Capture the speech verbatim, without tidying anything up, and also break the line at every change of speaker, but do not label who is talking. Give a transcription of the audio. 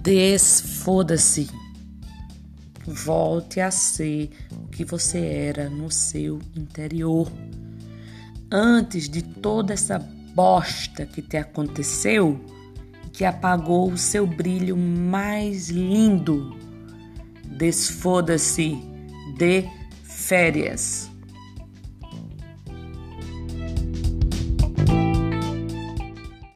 Desfoda-se. Volte a ser o que você era no seu interior. Antes de toda essa bosta que te aconteceu, que apagou o seu brilho mais lindo. Desfoda-se. Dê férias.